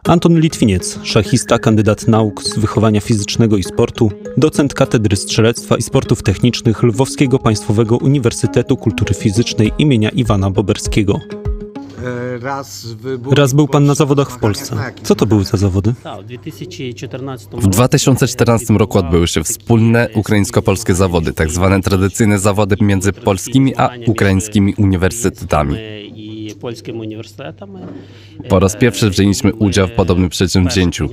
Anton Litwiniec, szachista, kandydat nauk z wychowania fizycznego i sportu, docent Katedry Strzelectwa i Sportów Technicznych Lwowskiego Państwowego Uniwersytetu Kultury Fizycznej imienia Iwana Boberskiego. Raz był pan na zawodach w Polsce. Co to były za zawody? W 2014 roku odbyły się wspólne ukraińsko-polskie zawody, tak zwane tradycyjne zawody między polskimi a ukraińskimi uniwersytetami. Po raz pierwszy wzięliśmy udział w podobnym przedsięwzięciu.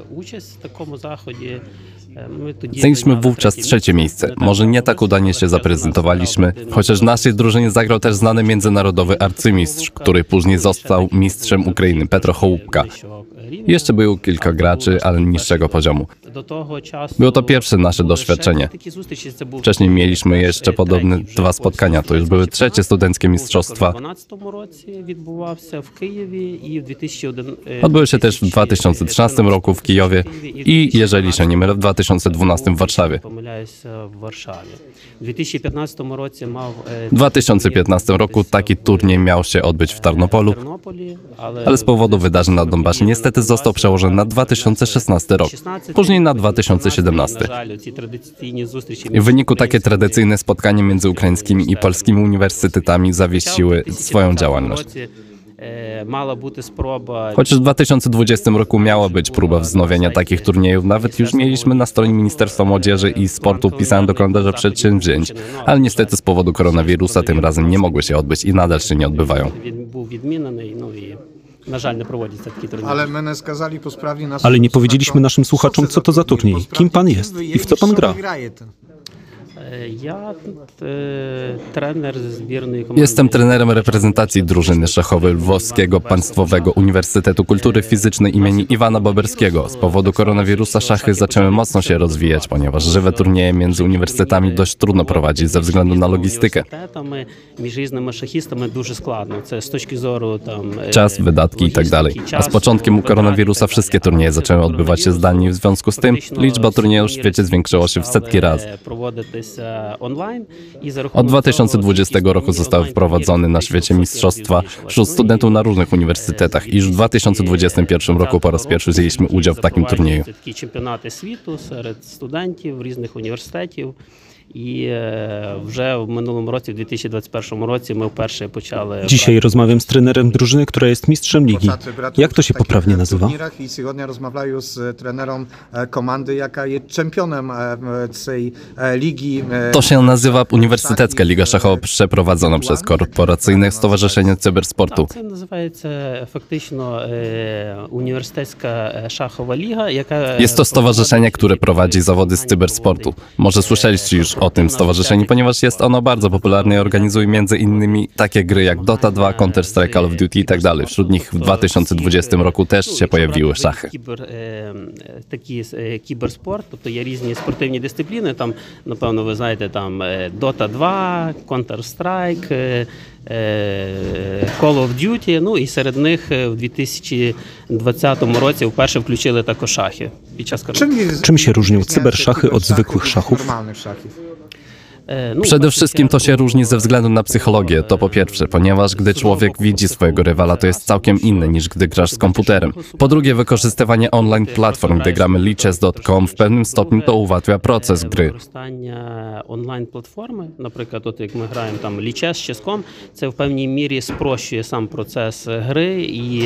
Zajęliśmy wówczas trzecie miejsce. Może nie tak udanie się zaprezentowaliśmy, chociaż w naszej drużynie zagrał też znany międzynarodowy arcymistrz, który później został mistrzem Ukrainy, Petro Chołupka. Jeszcze było kilka graczy, ale niższego poziomu. Było to pierwsze nasze doświadczenie. Wcześniej mieliśmy jeszcze podobne dwa spotkania. To już były trzecie studenckie mistrzostwa. Odbyły się też w 2013 roku w Kijowie i, jeżeli się nie mylę, w 2012 w Warszawie. W 2015 roku taki turniej miał się odbyć w Tarnopolu, ale z powodu wydarzeń na Donbasie niestety został przełożony na 2016 rok, później na 2017. W wyniku takie tradycyjne spotkania między ukraińskimi i polskimi uniwersytetami zawiesiły swoją działalność. Chociaż w 2020 roku miała być próba wznowienia takich turniejów, nawet już mieliśmy na stronie Ministerstwa Młodzieży i Sportu wpisane do kalendarza przedsięwzięć, ale niestety z powodu koronawirusa tym razem nie mogły się odbyć i nadal się nie odbywają. Ale nie powiedzieliśmy naszym słuchaczom, co to za turniej, kim pan jest i w co pan gra. Jestem trenerem reprezentacji drużyny szachowej Lwowskiego Państwowego Uniwersytetu Kultury Fizycznej imieni Iwana Boberskiego. Z powodu koronawirusa szachy zaczęły mocno się rozwijać, ponieważ żywe turnieje między uniwersytetami dość trudno prowadzić ze względu na logistykę. Czas, wydatki itd. A z początkiem koronawirusa wszystkie turnieje zaczęły odbywać się zdalnie. W związku z tym liczba turniejów w świecie zwiększyła się w setki razy. Od 2020 roku zostały wprowadzone na świecie mistrzostwa wśród studentów na różnych uniwersytetach i już w 2021 roku po raz pierwszy wzięliśmy udział w takim turnieju. Dzisiaj rozmawiam z trenerem drużyny, która jest mistrzem ligi. Jak to się poprawnie nazywa? To się nazywa Uniwersytecka Liga Szachowa przeprowadzona przez Korporacyjne Stowarzyszenie Cybersportu. Jest to stowarzyszenie, które prowadzi zawody z cybersportu. Może słyszeliście już o tym stowarzyszeniu, ponieważ jest ono bardzo popularne i organizuje między innymi takie gry jak Dota 2, Counter-Strike, Call of Duty i tak dalej. Wśród nich w 2020 roku też się pojawiły szachy. Taki кіберспорт, тобто є різні спортивні дисципліни, там, напевно, ви знаєте, там Dota 2, Counter-Strike, Call of Duty, ну і серед них в 2020 році вперше включили також шахи під час коронавірусу. Czym się różnią cyberszachy od zwykłych szachów? Przede wszystkim to się różni ze względu na psychologię, to po pierwsze, ponieważ gdy człowiek widzi swojego rywala, to jest całkiem inne niż gdy grasz z komputerem. Po drugie, wykorzystywanie online platform, gdy gramy lichess.com, w pewnym stopniu to ułatwia proces gry. Онлайн платформи, наприклад, от як ми граємо там Lichess, Chess.com, це в певній мірі спрощує сам процес гри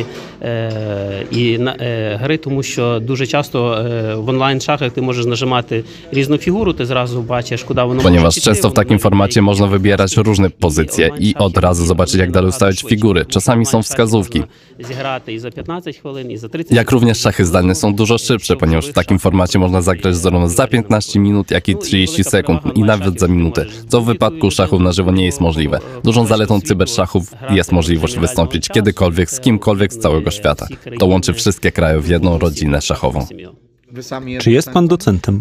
і гри, тому що дуже часто в онлайн шахах ти можеш нажимати різну фігуру, ти зразу бачиш, куди воно може Ponieważ często w takim formacie można wybierać różne pozycje i od razu zobaczyć, jak dalej ustawiać figury. Czasami są wskazówki. Jak również szachy zdalne są dużo szybsze, ponieważ w takim formacie można zagrać zarówno za 15 minut, jak i 30 sekund i nawet za minutę, co w wypadku szachów na żywo nie jest możliwe. Dużą zaletą cyberszachów jest możliwość wystąpić kiedykolwiek z kimkolwiek z całego świata. To łączy wszystkie kraje w jedną rodzinę szachową. Czy jest pan docentem?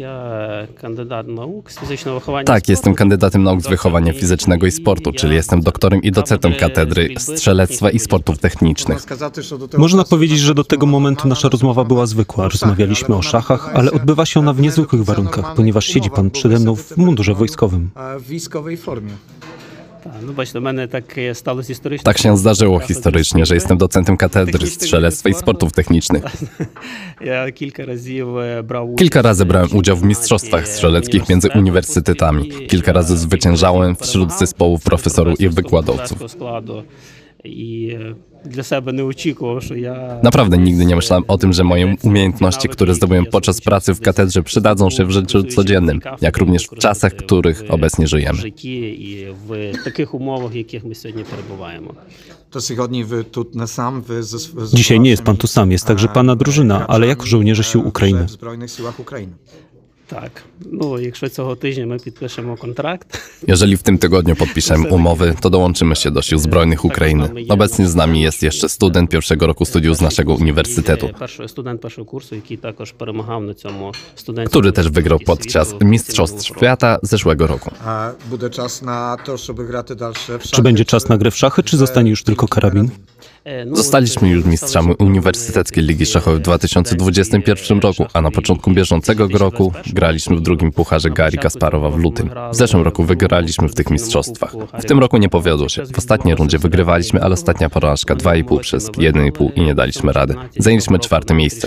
Tak, jestem kandydatem nauk z wychowania fizycznego i sportu, czyli jestem doktorem i docentem Katedry Strzelectwa i Sportów Technicznych. Można powiedzieć, że do tego momentu nasza rozmowa była zwykła. Rozmawialiśmy o szachach, ale odbywa się ona w niezwykłych warunkach, ponieważ siedzi pan przede mną w mundurze wojskowym. Ну, бачите, в мене так сталося історично. Tak się zdarzyło historycznie, że jestem docentem katedry strzelectwa i sportów technicznych. Ja kilka Razy brałem udział w mistrzostwach strzeleckich między uniwersytetami. Kilka razy zwyciężałem wśród zespołów profesorów i wykładowców. I dla siebie nie oczekiwał, że ja... Naprawdę nigdy nie myślałem o tym, że moje umiejętności, które zdobyłem podczas pracy w katedrze, przydadzą się w życiu codziennym, jak również w czasach, w których obecnie żyjemy. I w takich umowach, w jakich my сьогодні перебуваємо. To сьогодні ви тут не сам, ви Dzisiaj nie jest pan tu sam, jest także pana drużyna, ale jako żołnierze sił Ukrainy. w Збройних силах України. Так, ну, якщо цього тижня ми підпишемо контракт. Jeżeli w tym tygodniu podpiszemy umowy, to dołączymy się do Sił Zbrojnych Ukrainy. Obecnie z nami jest jeszcze student pierwszego roku studiów z naszego uniwersytetu, Студент першого курсу, який також перемагав на цьому студентському. który też wygrał podczas Mistrzostw Świata zeszłego roku. A буде час на те, щоб грати далі в шахи? Czy będzie czas na grę w szachy, czy zostanie już tylko karabin? Zostaliśmy już mistrzami Uniwersyteckiej Ligi Szachowej w 2021 roku, a na początku bieżącego roku graliśmy w drugim pucharze Garry Kasparowa w lutym. W zeszłym roku wygraliśmy w tych mistrzostwach. W tym roku nie powiodło się. W ostatniej rundzie wygrywaliśmy, ale ostatnia porażka 2,5 przez 1,5 i nie daliśmy rady. Zajęliśmy 4. miejsce.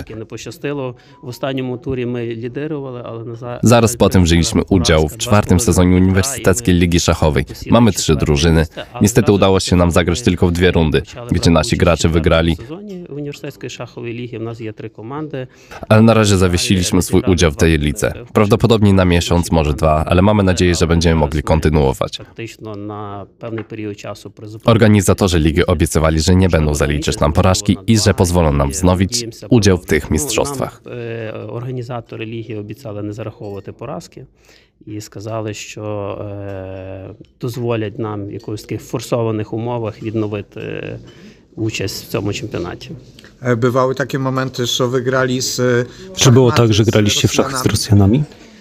Zaraz potem wzięliśmy udział w 4. sezonie Uniwersyteckiej Ligi Szachowej. Mamy 3 drużyny. Niestety udało się nam zagrać tylko w 2 rundy, gdzie nasi gracze wygrali, Університетської шахової ліги. У нас є 3 команди. ale na razie zawiesiliśmy swój udział w tej lidze. Prawdopodobnie na miesiąc, może 2, ale mamy nadzieję, że będziemy mogli kontynuować. Фактично на певний період часу призупинили. Organizatorzy ligi obiecywali, że nie będą zaliczać nam porażki i że pozwolą nam wznowić udział w tych mistrzostwach. Організатори ліги обіцяли не зараховувати поразки і сказали, що дозволять нам в якихось таких форсованих умовах відновити участь в цьому чемпіонаті. Bywały takie momenty, że wygrali z... Czy było tak, że graliście w szachy z Rosjanami?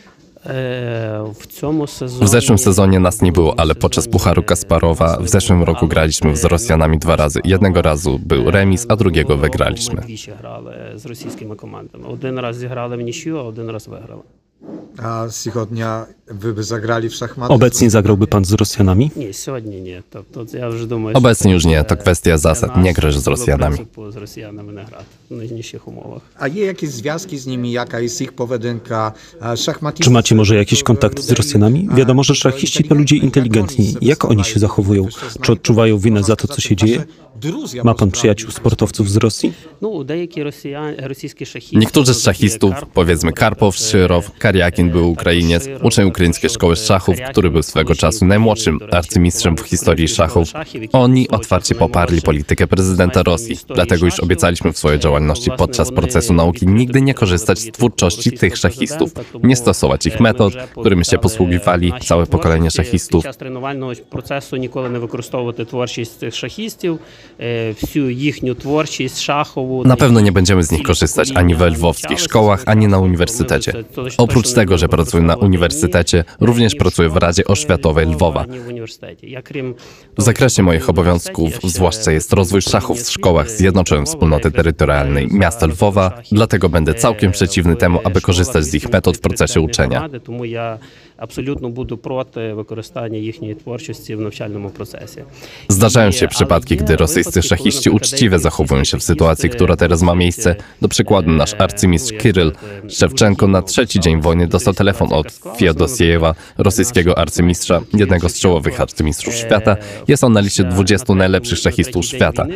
W zeszłym sezonie nas nie było, ale podczas Pucharu Kasparowa w zeszłym roku graliśmy z Rosjanami 2 razy. Jednego razu był remis, a drugiego wygraliśmy. Двічі грали з російськими командами. Один раз зіграли в нічию, а один раз виграли. A сьогодні ви б zagrali w szachmaty? Obecnie zagrałby pan z Rosjanami? Ні, сьогодні ні. Тобто я вже думаю, Obecnie już nie, to kwestia zasad, nie grasz z Rosjanami. З росіянами не грати в нижніших умовах. A є jakieś związki z nimi? Jaka jest ich powedynka? Szachmatyści... Czy macie może jakieś kontakty z Rosjanami? Wiadomo, że szachiści to ludzie inteligentni. Jak oni się zachowują? Czy odczuwają winę za to, co się dzieje? Ma pan przyjaciół sportowców z Rosji? Ну, деякі російські шахісти... Niektórzy z szachistów, powiedzmy Karpow, Szyrow, Karjakin był Ukrainiec, uczeń ukraińskiej szkoły szachów, który był swego czasu najmłodszym arcymistrzem w historii szachów. Oni otwarcie poparli politykę prezydenta Rosji, dlatego już obiecaliśmy w swojej działalności podczas procesu nauki nigdy nie korzystać z twórczości tych szachistów, nie stosować ich metod, którymi się posługiwali całe pokolenie szachistów. Під час тренувального процесу ніколи не використовувати творчість цих шахістів, всю їхню творчість шахову. Na pewno nie będziemy z nich korzystać ani we lwowskich szkołach, ani na uniwersytecie. Oprócz tego, że pracuję na uniwersytecie, również pracuję w Radzie Oświatowej Lwowa. W zakresie moich obowiązków zwłaszcza jest rozwój szachów w szkołach. Zjednoczyłem Wspólnoty Terytorialnej miasta Lwowa, dlatego będę całkiem przeciwny temu, aby korzystać z ich metod w procesie uczenia. Тому я абсолютно буду проти використання їхньої творчості в навчальному процесі. Zdarzają się przypadki, gdy rosyjscy szachiści uczciwie zachowują się w sytuacji, która teraz ma miejsce. Do przykładu nasz arcymistrz Kiryl Szewczenko na 3. dzień wojny dostał telefon od Fiodosiejewa, rosyjskiego arcymistrza, jednego z czołowych arcymistrzów świata. Jest on na liście 20 najlepszych szachistów świata.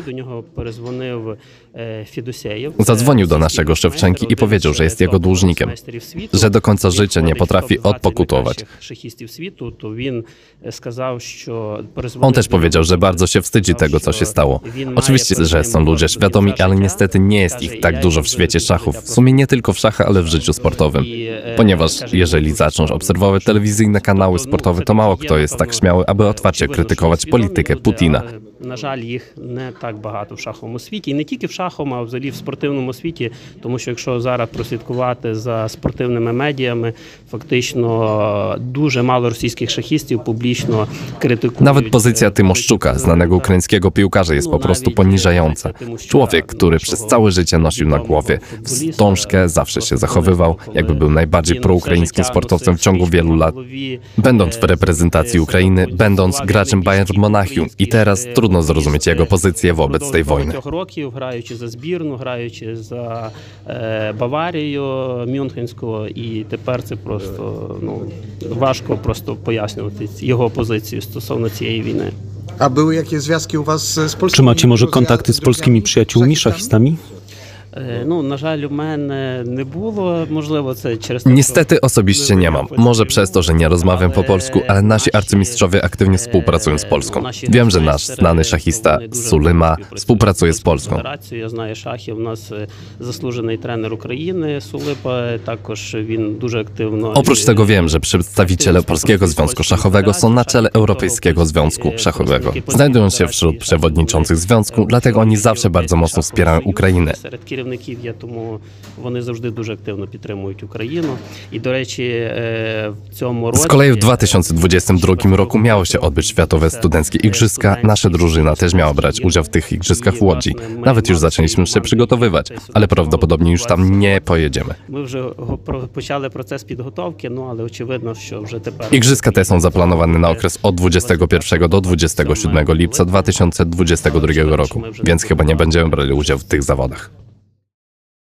Zadzwonił do naszego Szewczenki i powiedział, że jest jego dłużnikiem, że do końca życia nie potrafi odpokutować. On też powiedział, że bardzo się wstydzi tego, co się stało. Oczywiście, że są ludzie świadomi, ale niestety nie jest ich tak dużo w świecie szachów. W sumie nie tylko w szachach, ale w życiu sportowym. Ponieważ jeżeli zaczną obserwować telewizyjne kanały sportowe, to mało kto jest tak śmiały, aby otwarcie krytykować politykę Putina. На жаль, їх не так багато в шаховому світі. І не тільки в шаховому, а взагалі в спортивному світі. Тому що якщо зараз прослідкувати за спортивними медіями, фактично дуже мало російських шахістів публічно критикують. Nawet pozycja Tymoszczuka, znanego ukraińskiego piłkarza, jest po prostu poniżająca. Człowiek, który przez całe życie nosił na głowie wstążkę, zawsze się zachowywał, jakby był najbardziej proukraińskim sportowcem w ciągu wielu lat. Będąc w reprezentacji Ukrainy, będąc graczem Bayern Monachium i teraz trudno zrozumieć jego pozycję wobec tej wojny. Років, граючи за збірну, граючи за Баварію Мюнхенську, і тепер це просто важко просто пояснювати його позицію стосовно цієї війни. A były jakieś związki u was z polskimi? Czy macie może kontakty z polskimi przyjaciółmi szachistami? На жаль, у мене не було, можливо, це через те, Niestety osobiście nie mam. Może przez to, że nie rozmawiam po polsku, ale nasi arcymistrzowie aktywnie współpracują z Polską. Wiem, że nasz znany szachista Sulyma współpracuje z Polską. Я знаю шахів, у нас заслужений тренер України Сулипа, також він дуже активно. Oprócz tego wiem, że przedstawiciele Polskiego Związku Szachowego są na czele Europejskiego Związku Szachowego. Znajdują się wśród przewodniczących związku, dlatego oni zawsze bardzo mocno wspierają Ukrainę. Серед керівників є, тому вони завжди дуже активно підтримують Україну. І, до речі, в цьому році... Z kolei w 2022 roku miało się odbyć Światowe Studenckie Igrzyska. Nasza drużyna też miała brać udział w tych igrzyskach w Łodzi. Nawet już zaczęliśmy się przygotowywać, ale prawdopodobnie już tam nie pojedziemy. Ми вже почали процес підготовки, але очевидно, що вже тепер... Igrzyska te są zaplanowane na okres od 21 do 27 lipca 2022 roku, więc chyba nie będziemy brali udziału w tych zawodach.